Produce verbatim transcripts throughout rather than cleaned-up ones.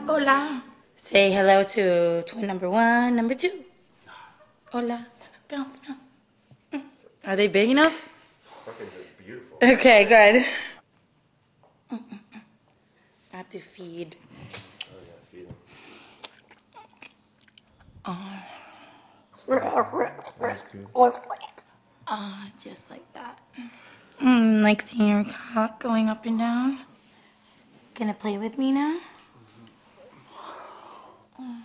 Hola. Say hello to twin number one, number two. Hola. Bounce, bounce. Are they big enough? Fucking beautiful. Okay, good. I have to feed. Oh yeah, feed them. Oh. That's good. Ah, uh, just like that. Mm, like seeing your cock going up and down. Gonna play with me now? Mm.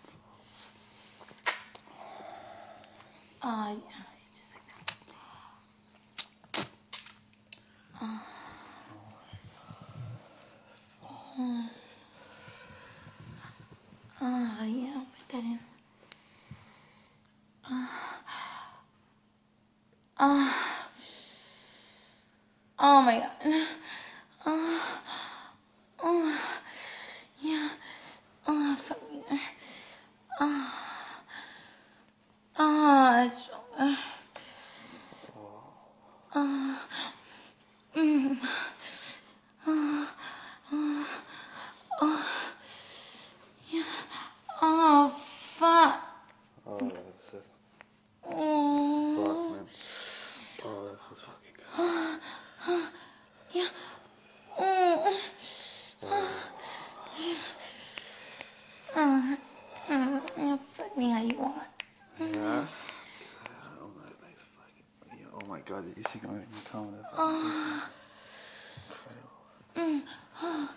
Uh, yeah, just like that. Uh, uh, uh, yeah, I'll put that in. Uh, uh, oh my god. Uh, oh, yeah. Oh, fuck me. Uh, uh, it's, uh, uh, mm, uh, uh, uh, yeah. Oh, fuck. Oh, that's it. Oh. Fuck, man. Oh, that feels fucking good. Yeah. Oh. Uh, uh, yeah, fuck me how you want. Yeah? Oh my, my fucking, yeah, oh my god, did you see my comment? Oh. Mm. Oh.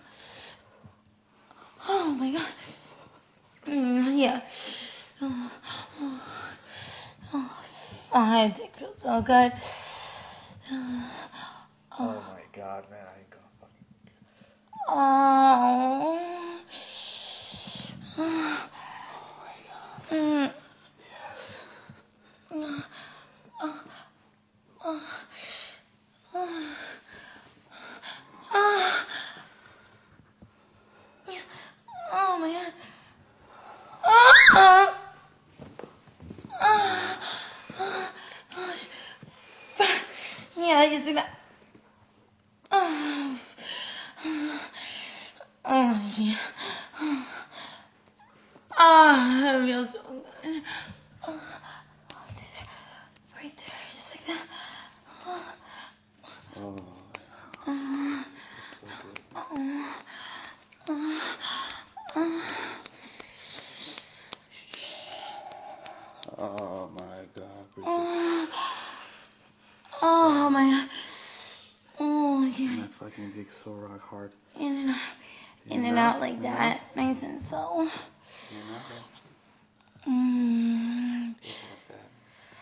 Oh my god. Mm, yeah. Oh, oh, oh, my dick feels so good. Oh. Oh my god, man, I ain't gonna fucking. Oh. Oh my god. Mm. Yes. Oh. Oh. Oh. Oh. Yeah. Oh my god. Oh. Oh. Oh. Oh. Yeah, you see that? Oh. Oh, yeah. Oh, that feels so good. Oh, I'll stay there. Right there, just like that. Oh. Oh. Oh. So good. Oh. Oh. Oh. Oh my god, Oh. Oh my god. Oh, yeah. my fucking dick's so rock hard. In and out. In and out like that. Nice and slow. In and out, Mm. just like that.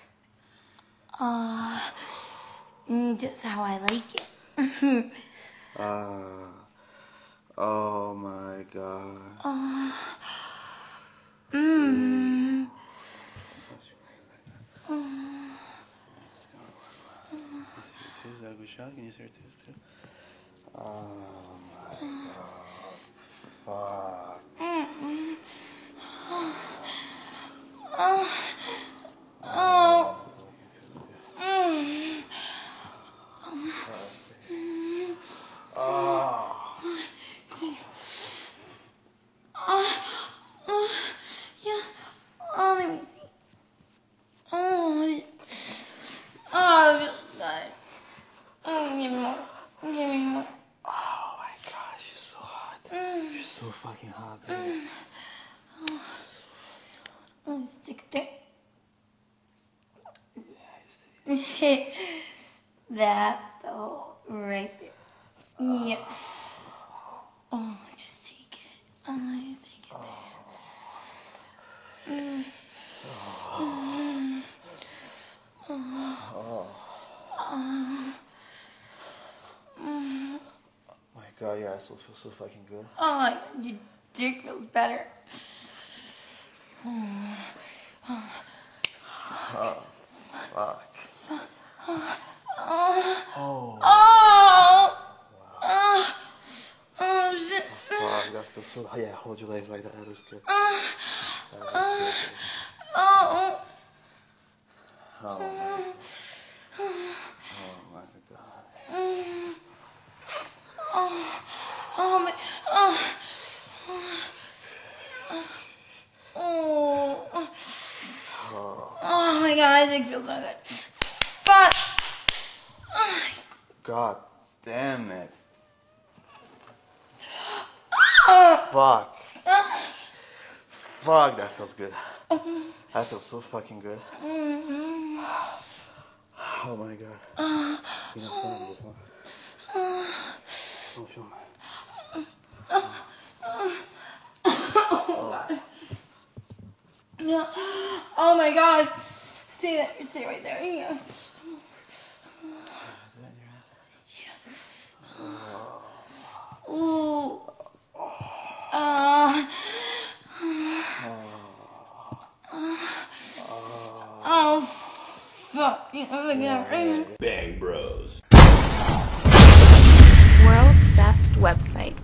Uh, mm, just how I like it. Ah. uh, oh my god. Uh, mm. Mm. Is that a good shot? Can you see her tits too? Oh my god. Fuck. Mm. Oh. Oh. Mm. Oh. Oh. Oh. Yeah. Oh, let me see. Oh. Oh, it feels good. Oh, give me more. Give me more. Oh my gosh, you're so hot. Mm. You're so fucking hot, baby. Mm. Oh. Let's stick there. That's the hole right there. Yep. Oh, just take it. Oh, just take it there. Mm. Mm. Oh. Oh. Mm. My god, your asshole feels so fucking good. Oh, your dick feels better. Oh. Oh. Oh, fuck. Oh. Oh. Oh. Oh. Oh. Oh, shit. Fuck, that feels so. Yeah, hold your legs like that. That is good. Oh. That is Oh. good. Oh. Oh my. Oh my god. Mm. Oh. Oh my. Oh. so good. Fuck. Oh, God damn it. oh. Fuck. Oh. Fuck, that feels good. That feels so fucking good. Mm-hmm. Oh my god. Uh, You know, film this one. uh, Oh, film. uh, uh, oh god. No. Oh my god. Stay there. Stay right there. Yeah. Ooh. Uh. Oh, fuck. Bang Bros. World's best website.